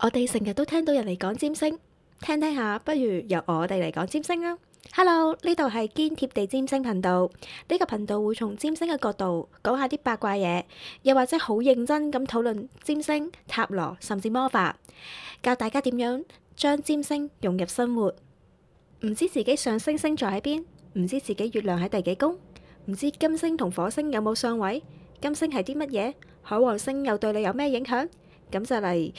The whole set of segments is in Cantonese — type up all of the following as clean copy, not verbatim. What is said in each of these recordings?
我哋成日都聽到人嚟講占星，聽聽下，不如由我哋嚟講占星啦。Hello，呢度係堅貼地占星頻道。呢個頻道會從占星嘅角度講下啲八卦嘢，又或者好認真咁討論占星、塔羅甚至魔法，教大家點樣將占星融入生活。唔知自己上升星座喺邊，唔知自己月亮喺第幾宮，唔知金星同火星有冇相位，金星係啲乜嘢，海王星又對你有咩影響？咁就嚟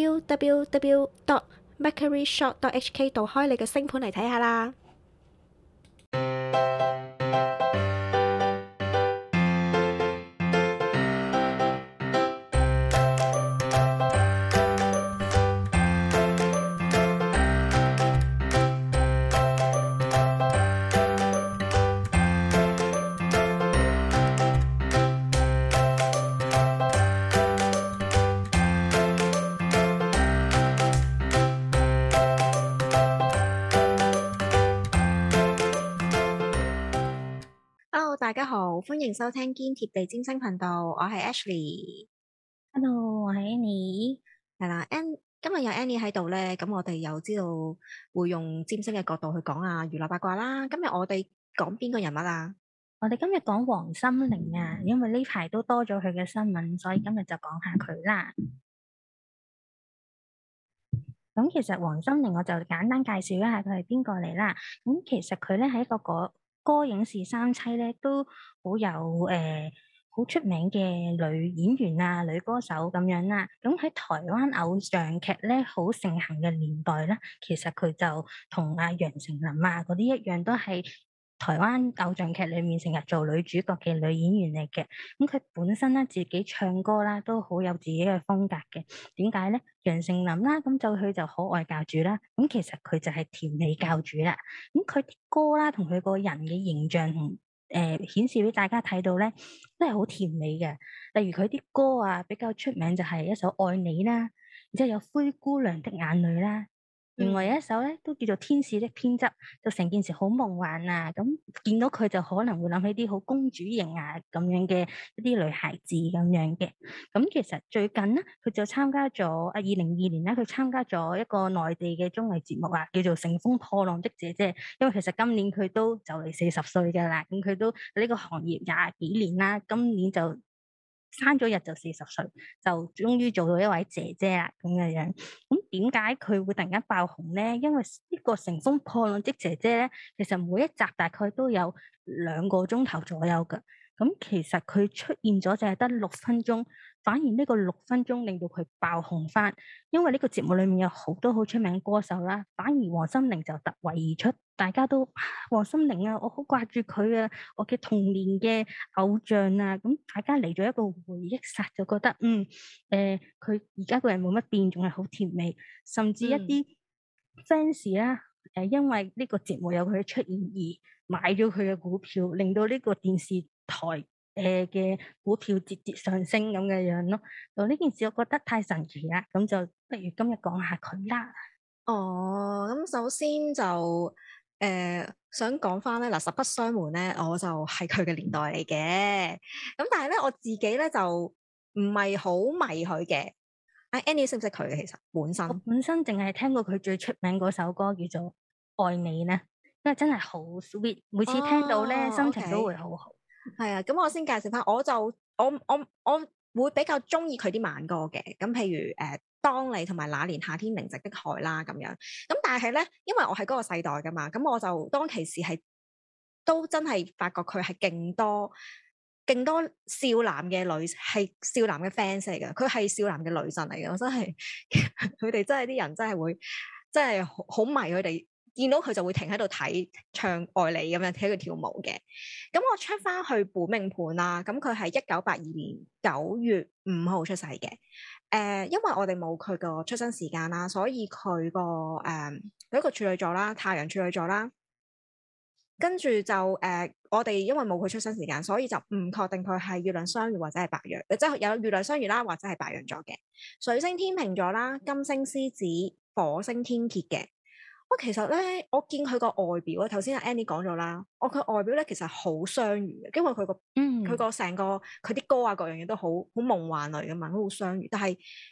www.mercuryshop.hk 度開你嘅星盤嚟睇下啦。Hello，大家好，歡迎收聽堅貼地占星頻道，我係 Ashley。 Hello，我係 Annie。 係啦今日有 Annie 喺度咧，咁我哋又知道會用占星嘅角度去講下娛樂八卦啦。今日我哋講邊個人物啊？ 我哋今日講黃心凌啊，因為呢排都多咗佢嘅新聞，所以今日就講下佢啦。咁其實黃心凌我就簡單介紹一下佢係邊個嚟啦。咁其實佢咧係一個歌影視三棲咧，都好有好出名嘅女演員啊、女歌手咁樣啦。咁喺台灣偶像劇咧好盛行嘅年代咧，其實佢就同阿楊丞琳啊嗰啲一樣，都係台灣偶像劇裏面成日做女主角嘅女演員嚟嘅。咁佢本身咧自己唱歌啦，都好有自己嘅風格嘅。點解咧？楊丞琳啦，咁就佢就可愛教主啦。咁其實佢就係甜美教主啦。咁佢啲歌啦，同佢個人嘅形象同顯示俾大家睇到咧，都係好甜美嘅。例如佢啲歌啊，比較出名就係一首《愛你》啦，然之後有《灰姑娘的眼淚》啦。另外有一首咧都叫做《天使的偏執》，就成件事好夢幻啊！咁見到佢就可能會諗起啲好公主型啊咁樣嘅一啲女孩子咁樣嘅。咁其實最近咧，佢就參加咗2022年咧，佢參加咗一個內地嘅綜藝節目啊，叫做《乘風破浪的姐姐》。因為其實今年佢都就嚟40歲㗎啦，咁佢都喺呢個行業廿幾年啦，今年就生咗日就40歲，就終於做到一位姐姐啦咁嘅樣。咁點解佢會突然間爆紅咧？因為呢個乘風破浪的姐姐咧，其實每一集大概都有2個鐘頭左右㗎。咁其實佢出現咗就係得6分鐘，反而呢個6分鐘令到佢爆紅翻。因為呢個節目裏面有好多好出名歌手啦，反而黃心凌就突圍而出，大家都黃心凌啊，我好掛住佢啊，我嘅童年嘅偶像啊。咁大家嚟咗一個回憶殺，就覺得佢而家個人冇乜變，仲係好甜美，甚至一啲 fans 啦，因為呢個節目有佢出現而買咗佢嘅股票，令到呢個電視台嘅股票節節上升咁嘅樣咯。就呢件事我覺得太神奇啦，咁就不如今日講下佢啦。 哦，咁首先就想講翻咧，嗱，實不相瞞咧，我就係佢嘅年代嚟嘅。咁但係咧，我自己咧就唔係好迷佢嘅。阿 Annie 識唔識佢嘅？其實本身我本身淨係聽過佢最出名嗰首歌叫做《愛你》咧，因為真係好 sweet，每次聽到咧哦心情都 ，OK， 會好好。 係啊。咁我先介紹翻，我會比較中意佢啲慢歌嘅。咁譬如當你同埋那年夏天寧靜的海啦咁樣。咁但係咧，因為我係嗰個世代噶嘛，咁我就當其時係都真係發覺佢係勁多少男嘅女係少男嘅 fans 嚟嘅，佢係少男嘅女神嚟嘅。我真係佢哋真係啲人真係會真係好迷佢哋，見到佢就會停喺度睇唱愛你咁樣睇佢跳舞嘅。咁我 check 翻去本命盤啦，咁佢係1982年9月5號出世嘅。因為我哋冇佢個出生時間啦，所以佢一個處女座啦，太陽處女座啦。跟住就我哋因為冇佢出生時間，所以就唔確定佢係月亮雙魚或者係白羊，即係有月亮雙魚啦，或者係白羊座嘅。水星天秤座啦，金星獅子，火星天蠍嘅。喂，其實咧，我見佢個外表咧，頭先阿 Annie 講咗啦，佢外表咧其實好雙魚嘅，因為佢個成個佢啲歌啊各樣嘢都好夢幻類噶嘛，都好雙魚。但係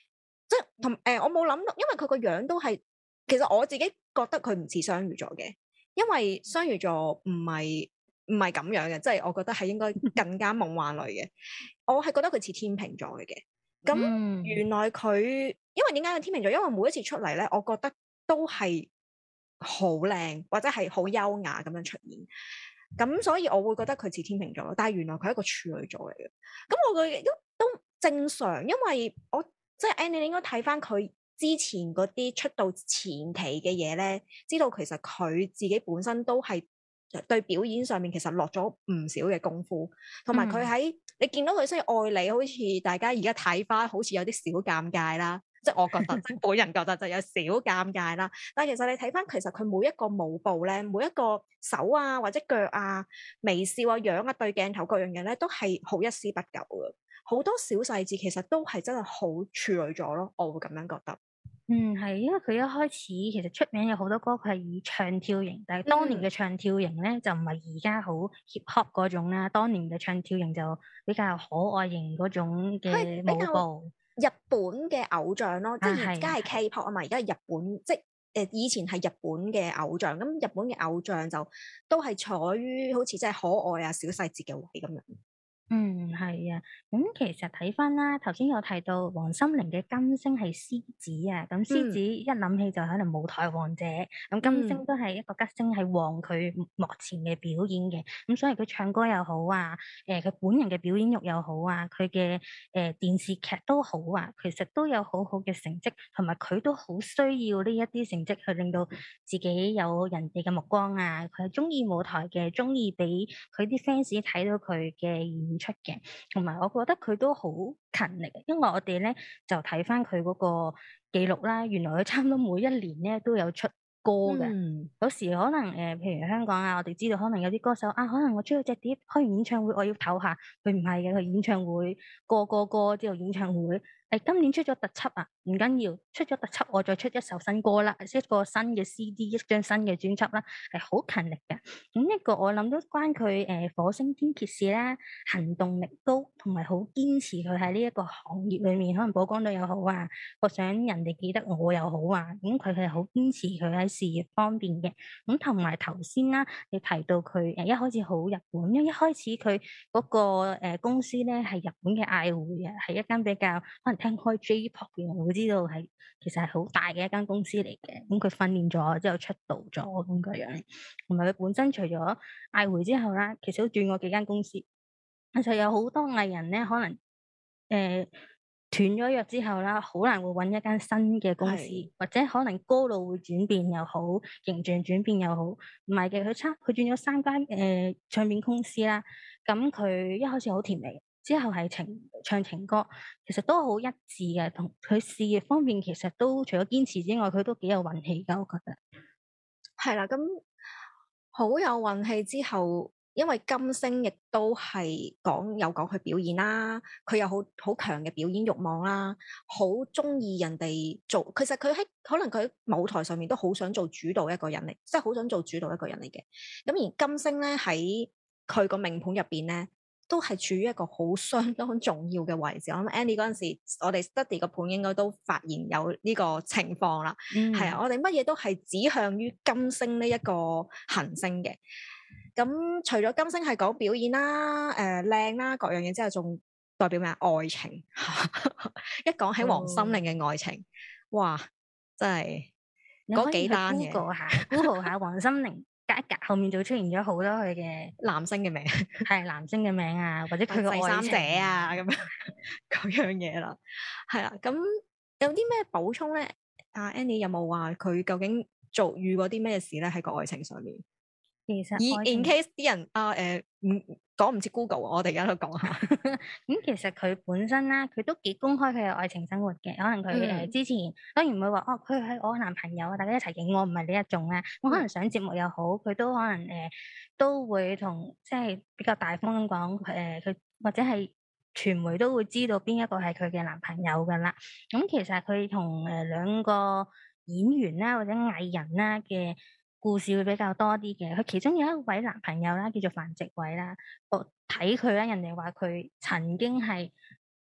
即係我冇諗到，因為佢個樣都係，其實我自己覺得佢唔似雙魚座嘅，因為雙魚座唔係咁樣嘅，即係我覺得係應該更加夢幻類嘅。我係覺得佢似天秤座嚟嘅。咁嗯原來佢，因為點解係天秤座？因為每一次出嚟咧，我覺得都係好靚或者係好優雅咁樣出現。咁所以我會覺得佢似天秤座咯，但係原來佢係一個處女座嚟嘅。咁我覺得都正常，因為我即係 Annie，你應該睇翻佢之前嗰啲出道前期嘅嘢咧，知道其實佢自己本身都係對表演上面其實落咗唔少嘅功夫，同埋佢喺你見到佢雖然愛你，好似大家而家睇翻好似有啲小尷尬啦。即係我覺得，即係本人覺得就有少尷尬啦。但係其實你睇翻，其實佢每一個舞步咧，每一個手啊或者腳啊、微笑啊、樣啊、對鏡頭各樣嘢咧，都係好一絲不苟嘅。好多小細節其實都係真係好處女座咯，我會咁樣覺得。 係，因為佢一開始其實出名有好多歌，佢係以唱跳型，但係當年嘅唱跳型咧就唔係而家好 hip hop 嗰種啦。當年嘅唱跳型就比較可愛型嗰種嘅舞步。 日本嘅偶像咯，即係而家係 K-pop 啊嘛，而家係日本，即係以前係日本嘅偶像，咁日本嘅偶像就都係坐於好似真係可愛啊小細節嘅位咁樣。 係啊，咁其實睇翻啦，頭先有提到黃心凌嘅金星係獅子啊，咁獅子一諗起就可能舞台王者，咁金星都係一個吉星，係旺佢幕前嘅表演嘅，咁所以佢唱歌又好啊，佢本人嘅表演欲又好啊，佢嘅電視劇都好啊，其實都有好好嘅成績，同埋佢都好需要呢一啲成績去令到自己有人哋嘅目光啊，佢係中意舞台嘅，中意俾佢啲 fans 睇到佢嘅演出嘅，同埋我覺得佢都好勤力，因為我哋咧就睇翻佢嗰個記錄啦，原來佢差唔多每一年咧都有出歌嘅。有時可能譬如香港啊，我哋知道可能有啲歌手啊，可能我出咗隻碟，開完演唱會我要唞下，佢唔係嘅，佢演唱會個歌之後演唱會。今年出咗特輯啊，唔緊要，出咗特輯我再出一首新歌啦，一個新嘅 CD，一張新嘅專輯啦，係好勤力嘅。咁一個我諗都關佢火星天蠍事啦，行動力高，同埋好堅持佢喺呢一個行業裏面，可能曝光度又好啊，我想人哋記得我又好啊，咁佢係好堅持佢喺事業方面嘅。咁同埋頭先啦，你提到佢一開始好日本，因為一開始佢嗰個公司咧係日本嘅愛回啊，係一間比較可能聽開 J-pop 嘅人會知道係其實係好大嘅一間公司嚟嘅。咁佢訓練咗之後出道咗咁個樣，同埋佢本身除咗愛回之後啦，其實都轉過幾間公司。其實有好多藝人咧，可能斷咗約之後啦，好難會揾一間新嘅公司，或者可能歌路會轉變又好，形象轉變又好。唔係嘅，佢轉咗3間唱片公司啦。咁佢一開始好甜美，之後係唱情歌，其實都好一致嘅。同佢事業方面，其實都除咗堅持之外，佢都幾有運氣㗎，我覺得。 係啦，咁好有運氣之後，因為金星亦都係有講佢表演啦，佢有好強嘅表演慾望啦，好中意人哋做。其實佢可能佢喺舞台上面都好想做主導一個人嚟，即係好想做主導一個人嚟嘅。咁而金星咧喺佢個命盤入邊咧，都係處於一個好相當重要嘅位置。我諗 Annie 嗰陣時，我哋 study 個盤應該都發現有呢個情況啦。係啊，我哋乜嘢都係指向於金星呢一個行星嘅。咁除咗金星係講表演啦、靚啦各樣嘢之後，仲代表咩啊？愛情。一講起黃心凌嘅愛情，哇，真係嗰幾單嘢。 Google 下黃心凌，隔一格後面就出現咗好多佢嘅男星嘅名， 係男星嘅名啊，或者佢嘅第三者啊咁樣嗰樣嘢啦。係啦，咁有啲咩補充咧？阿 Annie 有冇話佢究竟遇過啲咩事咧？喺個愛情上面？ 其實 in case 啲人講唔切 Google，我哋而家都講下。 咁其實佢本身啦，佢都幾公開佢嘅愛情生活嘅。可能佢之前當然唔會話佢係我男朋友啊，大家一齊影我唔係呢一種啦。我可能上節目又好，佢都可能都會同即係比較大方咁講佢或者係傳媒都會知道邊一個係佢嘅男朋友噶啦。咁其實佢同2個演員啦或者藝人啦嘅故事會比較多啲嘅，佢其中有一位男朋友啦，叫做范植偉啦。我睇佢啦，人哋話佢曾經係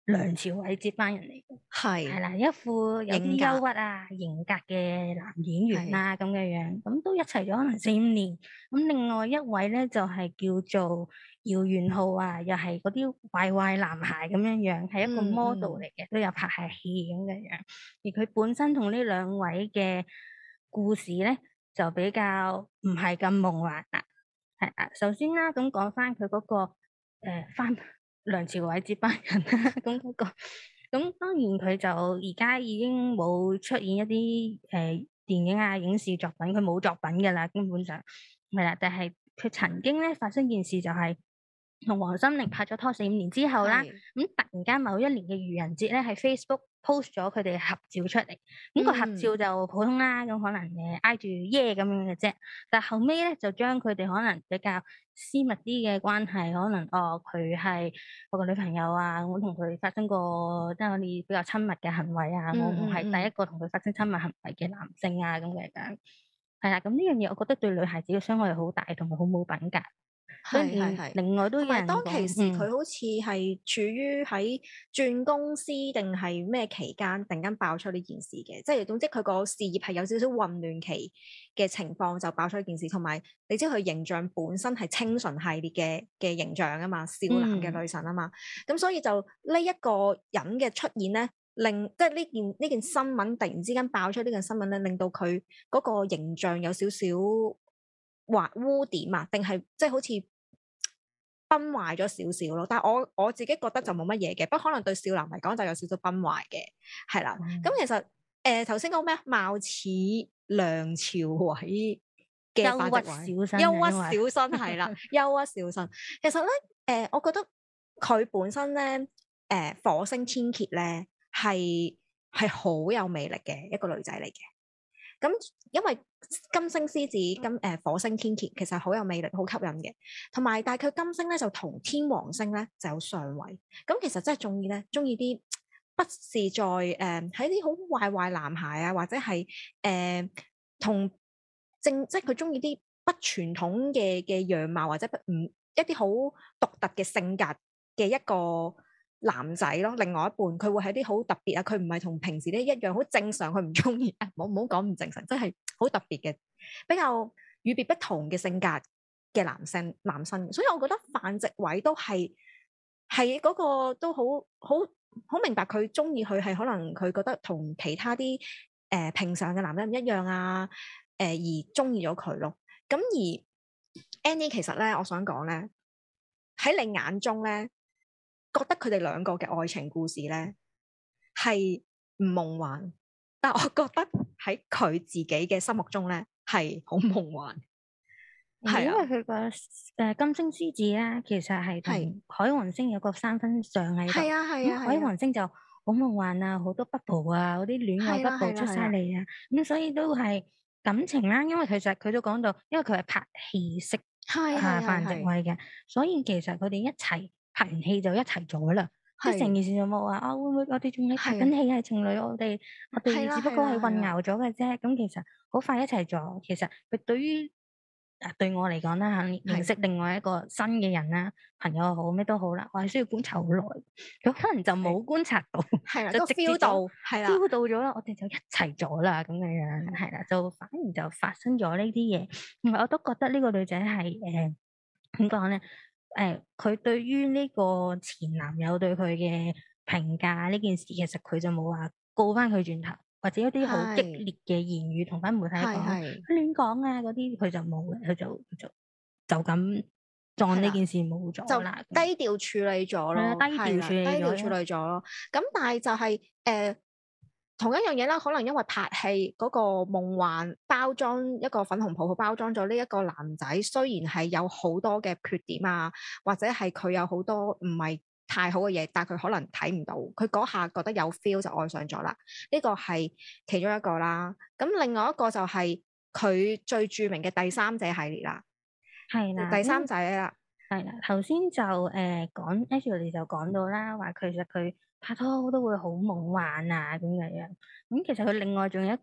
梁朝偉接班人嚟嘅。係係啦，一副有啲型格憂鬱啊、型格嘅男演員啦咁嘅樣，咁都一齊咗可能4、5年。咁另外一位咧就係、叫做姚元浩啊，又係嗰啲壞壞男孩咁樣樣，係一個 model 嚟嘅，都有拍下戲咁嘅樣。而佢本身同呢兩位嘅故事咧，就比較唔係咁夢幻啦。係啊，首先啦，咁講翻佢嗰個翻梁朝偉接班人啦，咁嗰個。咁當然佢就而家已經冇出現一啲電影啊、影視作品，佢冇作品㗎啦，根本上係啦。但係佢曾經咧發生件事，就係同黃心凌拍咗拖4、5年之後啦，咁突然間某一年嘅愚人節咧，喺 Facebook post 咗佢哋合照出嚟。咁個合照就普通啦，咁可能挨住耶咁樣嘅啫。但後尾咧就將佢哋可能比較私密啲嘅關係，可能佢係我個女朋友啊，我同佢發生過即係我哋比較親密嘅行為啊，我係第一個同佢發生親密行為嘅男性啊咁嘅樣。係啦，咁呢樣嘢我覺得對女孩子嘅傷害好大，同埋好冇品格。所以另外都有人講， 同埋當其時佢好似係處於喺轉公司定係咩期間，突然間爆出呢件事嘅，即係總之佢個事業係有少少混亂期嘅情況，就爆出呢件事。同埋你知佢形象本身係清純系列嘅形象啊嘛，少男嘅女神啊嘛，咁所以就呢一個人嘅出現咧，令即係呢件新聞突然之間爆出呢件新聞咧，令到佢嗰個形象有少少污點啊，定係即係好似崩壞咗少少咯，但係我自己覺得就冇乜嘢嘅，不過可能對少男嚟講就有少少崩壞嘅，係啦。咁其實頭先講咩貌似梁朝偉嘅範植位，憂鬱小生係啦，憂鬱小生。其實咧，我覺得佢本身咧，火星天蠍咧係好有魅力嘅一個女仔嚟嘅。咁因為金星獅子火星天蠍其實好有魅力，好吸引嘅。同埋但係佢金星咧就同天王星咧就有相位。咁其實真係中意啲不是在喺啲好壞男孩啊，或者係同即係佢中意啲不傳統嘅樣貌，或者一啲好獨特嘅性格嘅一個男仔咯。另外一半佢會係啲好特別啊，佢唔係同平時咧一樣好正常，佢唔中意啊，唔好講唔正常，真係好特別嘅，比較與別不同嘅性格嘅男生。所以我覺得範植偉都係嗰個都好明白佢中意佢係可能佢覺得同其他啲平常嘅男人唔一樣啊，而中意咗佢咯。咁而 Annie 其實咧，我想講咧，喺你眼中咧，覺得佢哋兩個嘅愛情故事咧係唔夢幻，但我覺得喺佢自己嘅心目中咧係好夢幻。係因為佢個金星獅子咧，其實係同海王星有個3分相喺度。係啊。咁海王星就好夢幻啊，好多 bubble 啊，嗰啲戀愛 bubble 出晒嚟啊。咁所以都係感情啦。因為其實佢都講到，因為佢係拍戲識範植偉嘅，所以其實佢哋一齊拍完戲就一齊咗啦。即係成件事就冇話會唔會我哋仲喺拍緊戲係情侶，我哋只不過係混淆咗嘅啫。咁其實好快一齊咗。其實佢對於對我嚟講啦，認識另外一個新嘅人啦，朋友好咩都好啦，我係需要觀察好耐。佢可能就冇觀察到，就直接 feel 到咗啦，我哋就一齊咗啦，咁樣係啦，就反而就發生咗呢啲嘢。我都覺得呢個女仔係點講咧？佢對於呢個前男友對佢嘅評價呢件事，其實佢就冇話告翻佢轉頭，或者一啲好激烈嘅言語同翻媒體講，亂講啊嗰啲，佢就冇嘅，佢就咁當呢件事冇咗啦， 就低調處理咗咯， 低調處理咗咯。 咁但係就係同一樣嘢啦，可能因為拍戲嗰個夢幻包裝，一個粉紅泡泡包裝咗呢一個男仔，雖然係有好多嘅缺點啊，或者係佢有好多唔係太好嘅嘢，但係佢可能睇唔到，佢嗰下覺得有 feel 就愛上咗啦。呢個係其中一個啦。咁另外一個就係佢最著名嘅第三者系列啦。 係啦， 第三者啦， 係啦。頭先就講 Ashley 就講到啦，話其實佢拍拖都會好夢幻啊咁樣。咁其實佢另外仲有一個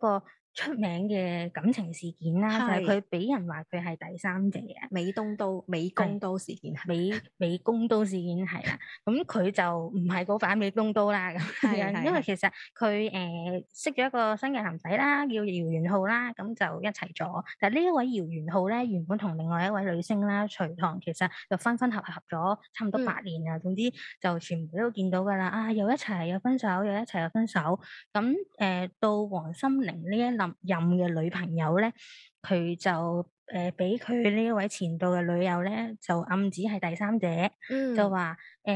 出名嘅感情事件啦，就係佢俾人話佢係第三者啊， 美工刀事件， 美工刀事件係啦，咁佢就唔係嗰把美工刀啦咁樣，因為其實佢識咗一個新嘅男仔啦，叫姚元浩啦，咁就一齊咗。但係呢一位姚元浩咧，原本同另外一位女星啦徐棠，其實就分合咗差唔多8年啊。總之就全部都見到㗎啦，啊又一齊又分手，又一齊又分手。咁到黃心凌呢一任嘅女朋友咧，佢就俾佢呢一位前度嘅女友咧，就暗指係第三者，就話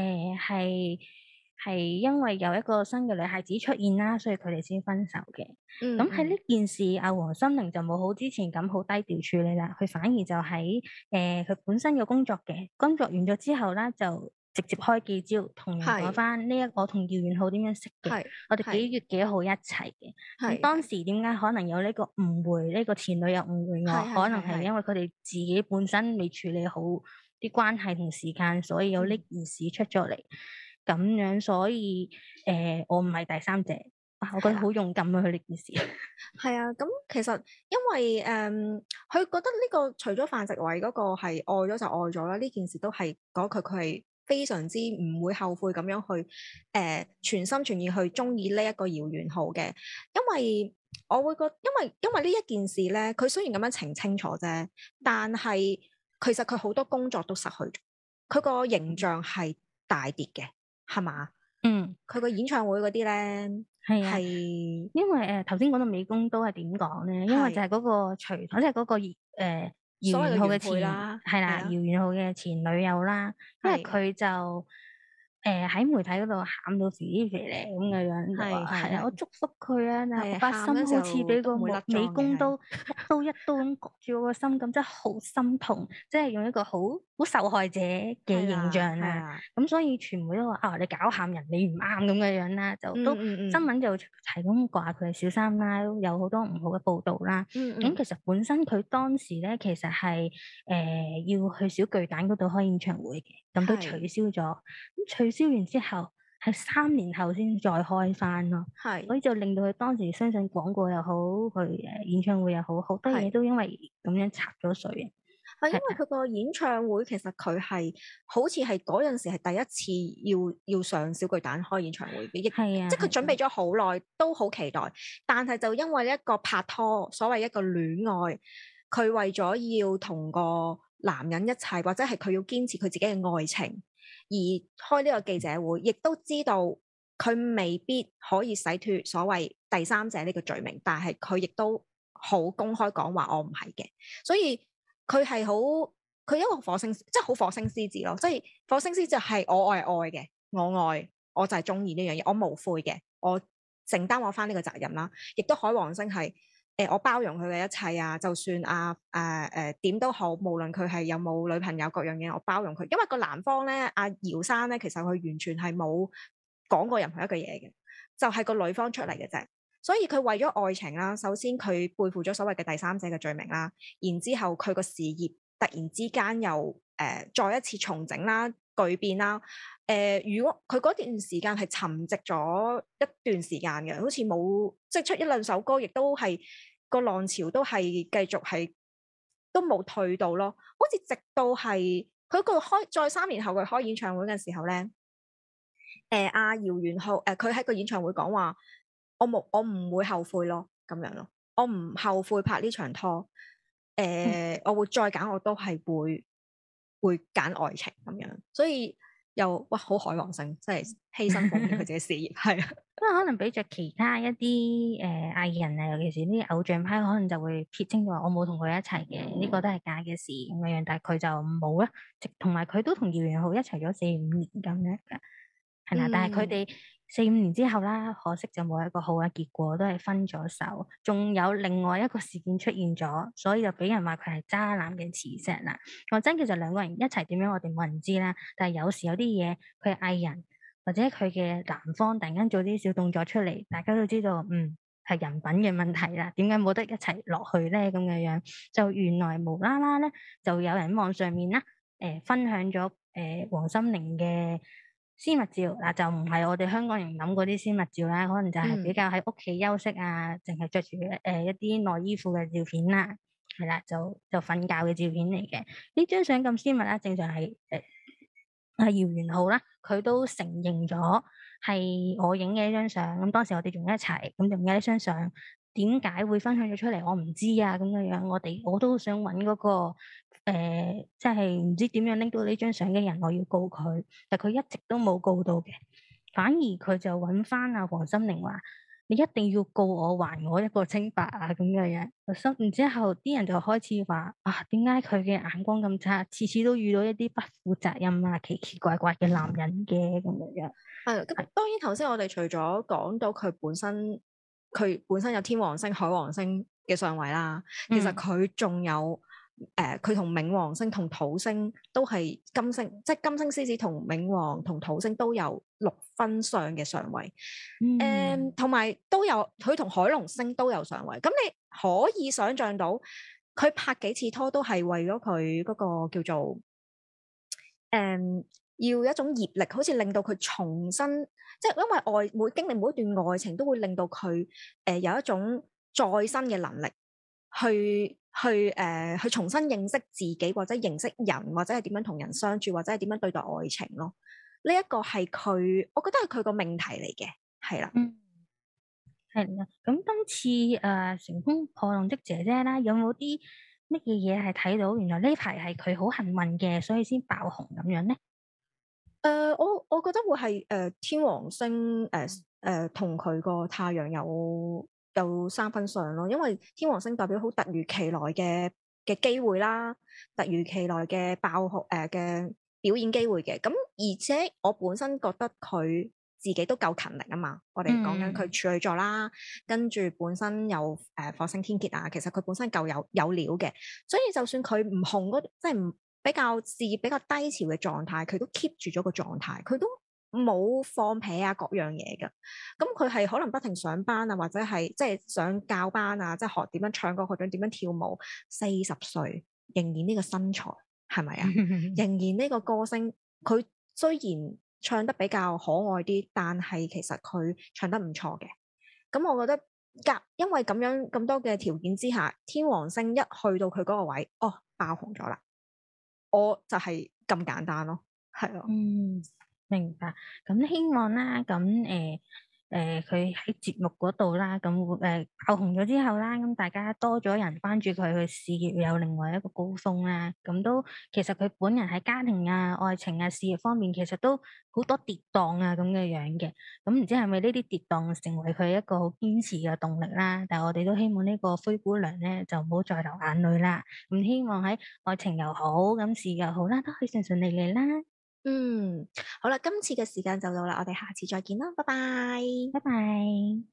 係因為有一個新嘅女孩子出現啦，所以佢哋先分手嘅。咁喺呢件事，阿黃心凌就冇好之前咁好低調處理啦，佢反而就喺佢本身嘅工作完咗之後啦，就直接開記招，同人講翻我同姚元浩點樣識嘅，我哋幾月幾號一齊嘅。咁當時點解可能有呢個誤會？呢個前女友誤會我，可能係因為佢哋自己本身未處理好啲關係同時間，所以有呢件事出咗嚟。咁樣，所以我唔係第三者，我覺得好勇敢啊！佢呢件事係啊，咁其實因為佢覺得呢個除咗范植偉嗰個係愛咗就愛咗啦，呢件事都係講佢係非常之唔會後悔咁樣去全心全意去中意呢一個姚元浩嘅，因為我會覺得，因為呢一件事咧，佢雖然咁樣澄清楚啫，但係其實佢好多工作都失去咗，佢個形象係大跌嘅。係嘛？佢個演唱會嗰啲咧，係因為頭先講到美工刀係點講咧？因為就係嗰個徐棠，即係嗰個姚元浩嘅前係啦，姚元浩嘅前女友啦，因為佢就喺媒體嗰度喊到肥肥咧咁嘅樣，係啊，我祝福佢啊！但係把心好似俾個美工刀一刀咁割住我個心咁，真係好心痛，即係用一個好受害者嘅形象啊！咁所以傳媒都話啊，你搞喊人，你唔啱咁嘅樣啦，就都新聞就係咁話佢係小三啦，有好多唔好嘅報導啦。咁其實本身佢當時咧，其實係要去小巨蛋嗰度開演唱會嘅，咁都取消咗。咁取消完之後，係3年後先再開翻咯。所以就令到佢當時相信廣告又好，佢演唱會又好，好多嘢都因為咁樣插咗水嘅。 係因為佢個演唱會其實佢係好似係嗰陣時係第一次要上小巨蛋開演唱會嘅，即係佢準備咗好耐，都好期待。但係就因為一個拍拖，所謂一個戀愛，佢為咗要同個男人一齊，或者係佢要堅持佢自己嘅愛情，而開呢個記者會，亦都知道佢未必可以洗脫所謂第三者呢個罪名，但係佢亦都好公開講話我唔係嘅，所以佢係好，佢一個火星，即係好火星獅子咯，即係火星獅就係我愛嘅，我愛我就係中意呢樣嘢，我無悔嘅，我承擔我翻呢個責任啦，亦都海王星係我包容佢嘅一切啊，就算點都好，無論佢係有冇女朋友各樣嘢，我包容佢，因為個男方咧姚生咧，其實佢完全係冇講過任何一句嘢嘅，就係個女方出嚟嘅啫。所以佢為咗愛情啦，首先佢背負咗所謂嘅第三者嘅罪名啦，然之後佢個事業突然之間又再一次重整啦、巨變啦。如果佢嗰段時間係沉寂咗一段時間嘅，好似冇即係出一兩首歌，亦都係個浪潮都係繼續係都冇退到咯。好似直到係佢再3年後佢開演唱會嘅時候咧，阿姚元浩佢喺個演唱會講話。我唔會後悔咯，咁樣咯，我唔後悔拍呢場拖，我會再揀，我都係會揀愛情咁樣，所以又好海王星，即係犧牲奉獻佢自己事業，係啊， 因為可能比着其他一啲藝人啊，尤其是啲偶像派，可能就會撇清咗話我冇同佢一齊嘅，呢個都係假嘅事咁樣，但係佢就冇啦，同埋佢都同姚元浩一齊咗4-5年咁樣噶，係啦，但係佢哋4-5年之後啦，可惜就冇一個好嘅結果，都係分咗手。仲有另外一個事件出現咗，所以就俾人話佢係渣男嘅磁石啦。講真，其實兩個人一齊點樣，我哋冇人知啦。但係有時有啲嘢，佢係藝人或者佢嘅男方突然間做啲小動作出嚟，大家都知道，係人品嘅問題啦。點解冇得一齊落去咧？咁嘅樣就原來無啦啦咧，就有人喺網上面啦，分享咗黃心凌嘅私密照嗱，就唔係我哋香港人諗嗰啲私密照啦，可能就係比較喺屋企休息啊，淨係着住一啲內衣褲嘅照片啦，係啦，就瞓覺嘅照片嚟嘅。呢張相咁私密啦，正常係姚元浩啦，佢都承認咗係我影嘅一張相。咁當時我哋仲一齊，咁就影呢張相。點解會分享咗出嚟？我唔知啊，咁樣樣我都想揾嗰個即係唔知點樣拎到呢張相嘅人，我要告佢，但佢一直都冇告到嘅，反而佢就揾翻阿黃心玲話：你一定要告我，還我一個清白啊！咁樣樣，然之後啲人就開始話啊，點解佢嘅眼光咁差，次次都遇到一啲不負責任啊、奇奇怪怪嘅男人嘅咁樣樣。 係咁，當然頭先我哋除咗講到佢本身有天王星、海王星嘅相位啦，其實佢仲有佢同冥王星同土星都係金星，即係金星獅子同冥王同土星都有6分相嘅相位，同埋都有佢同海龍星都有相位，咁你可以想像到佢拍幾次拖都係為咗佢嗰個叫做要一種業力，好似令到佢重新，即係因為每經歷每一段愛情，都會令到佢有一種再生嘅能力，去重新認識自己，或者認識人，或者係點樣同人相處，或者係點樣對待愛情咯。呢一個係佢，我覺得係佢個命題嚟嘅，係啦。 係啦，咁今次乘風破浪的姐姐啦，有冇啲乜嘢嘢係睇到？原來呢排係佢好幸運嘅，所以先爆紅咁樣咧？ 我覺得會係天王星同佢個太陽有3分相咯，因為天王星代表好突如其來嘅機會啦，突如其來嘅爆紅嘅表演機會嘅。咁而且我本身覺得佢自己都夠勤力啊嘛，我哋講緊佢處女座啦，跟住本身有火星天蠍啊，其實佢本身夠有料嘅，所以就算佢唔紅即係唔比較事業比較低潮嘅狀態，佢都 keep 住咗個狀態，佢都冇放屁啊各樣嘢㗎。咁佢係可能不停上班啊，或者係即係上教班啊，即係學點樣唱歌，學點樣跳舞。40歲仍然呢個身材係咪啊？仍然呢個歌聲，佢雖然唱得比較可愛啲，但係其實佢唱得唔錯嘅。咁我覺得因為咁樣咁多嘅條件之下，天王星一去到佢嗰個位，爆紅咗啦。我就係咁簡單咯，係咯。 明白。咁希望啦，咁佢喺節目嗰度啦，咁爆紅咗之後啦，咁大家多咗人關注佢，佢事業有另外一個高峰啦。咁都其實佢本人喺家庭啊、愛情啊、事業方面，其實都好多跌宕啊咁嘅樣嘅。咁唔知係咪呢啲跌宕成為佢一個好堅持嘅動力啦？但係我哋都希望呢個灰姑娘咧就唔好再流眼淚啦。咁希望喺愛情又好，咁事業又好啦，都可以順順利利啦。 好啦，今次嘅時間就到啦，我哋下次再見啦，拜拜。 拜拜。